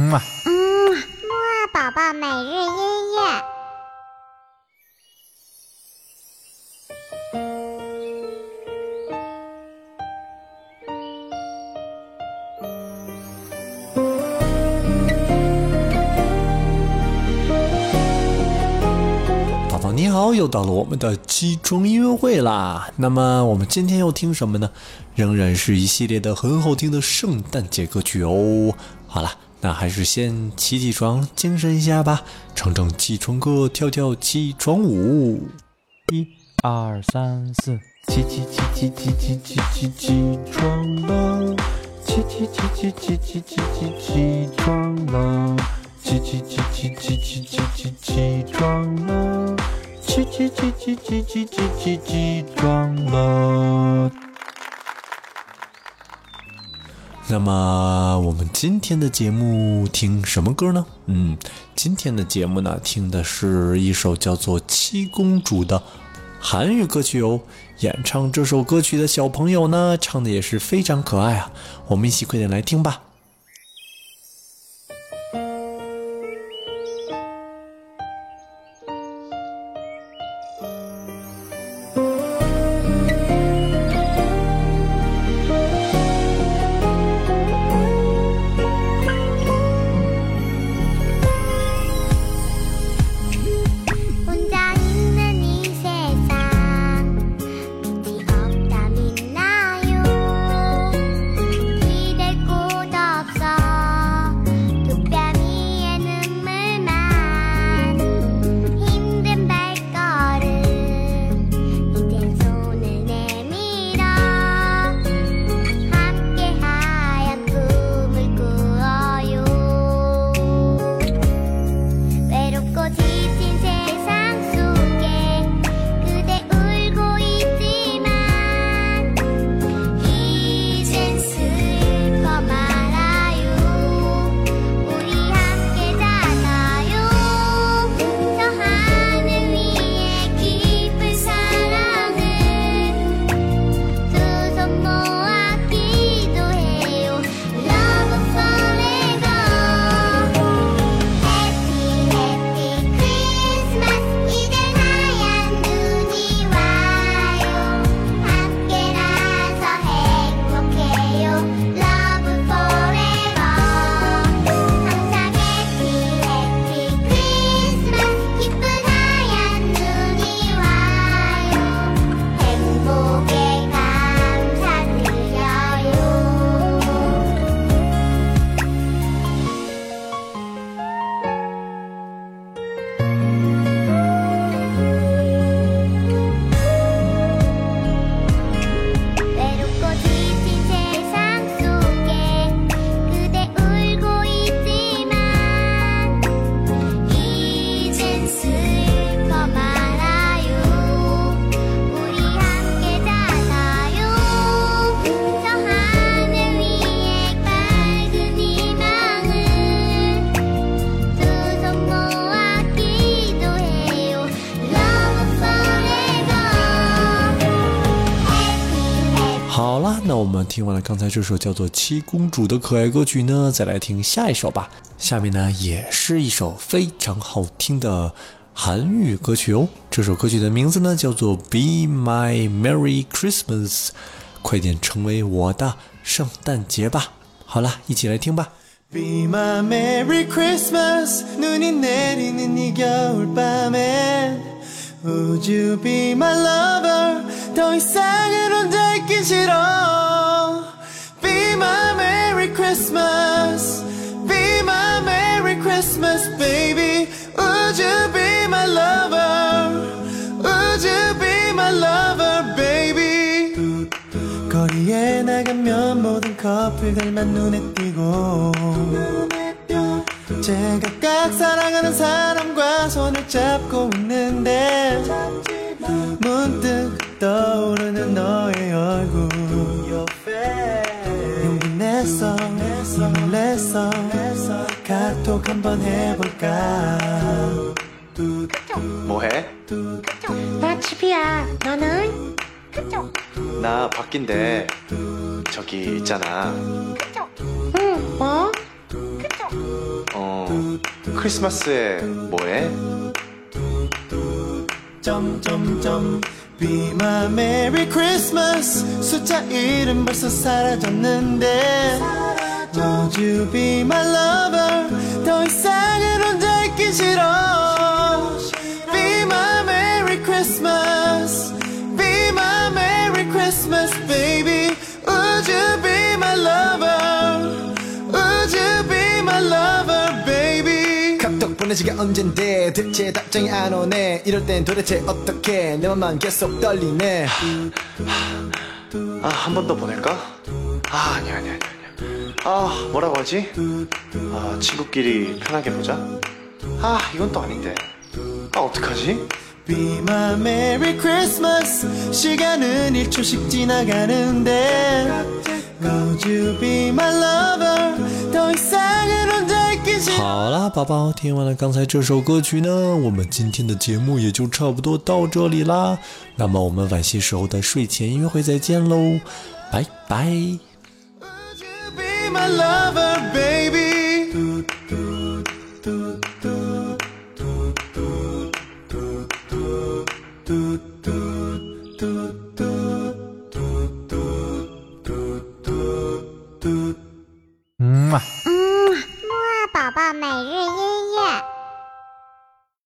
木啊宝宝每日音乐。 你好，又到了我们的起床音乐会啦。那么我们今天要听什么呢？仍然是一系列的很好听的圣诞节歌曲哦。好了，那还是先起床，精神一下吧，唱唱起床歌，跳跳起床舞。 1、2、3、4，起床了，起床了，起床了。起床了。 那么我们今天的节目听什么歌呢？今天的节目呢，听的是一首叫做《七公主》的韩语歌曲哦。演唱这首歌曲的小朋友呢，唱的也是非常可爱啊。我们一起快点来听吧。好了，那我们听完了刚才这首叫做《七公主》的可爱歌曲呢，再来听下一首吧。下面呢也是一首非常好听的韩语歌曲哦。这首歌曲的名字呢叫做《Be My Merry Christmas》，快点成为我的圣诞节吧。好了，一起来听吧。 Be my Merry Christmas 눈이 내리는 이 겨울밤엔 Would you be my lover 더 이상은 혼자 있긴 싫어 Be my Merry Christmas Be my Merry Christmas baby Would you be my lover Would you be my lover baby 거리에 나가면 모든 커플들만 눈에 띄고 제각각 사랑하는 사람과 손을 잡고 있는데 문득 떠오르는 너의 얼굴 용기 냈어 힘을 냈어 카톡 한번 해볼까 뭐해? 나 집이야. 너는? 나 밖인데 저기 있잖아. 응, 뭐? 크리스마스에 뭐해? 점점점 Be my Merry Christmas 숫자 1은 벌써 사라졌는데 Would you be my lover 더 이상은 혼자 있기 싫어 Be my Merry Christmas Be my Merry Christmas baby Would you be my lover Would you be my lover baby 카톡 보내지가 언젠데 대체 답장이 안 오네 이럴 땐 도대체 어떡해 내 맘만 계속 떨리네 아, 한 번 더 보낼까? 아, 아니야. 아, 뭐라고 하지? 아, 친구끼리 편하게 보자. 아, 이건 또 아닌데. 아, 어떡하지? Be my Merry Christmas 시간은 1초씩 지나가는데 Would you be my lover 더 이상은 혼자 있기 싫어 好啦，宝宝，听完了刚才这首歌曲呢，我们今天的节目也就差不多到这里啦。那么我们晚些时候的睡前音乐会再见喽，拜拜。 Would you be my lover baby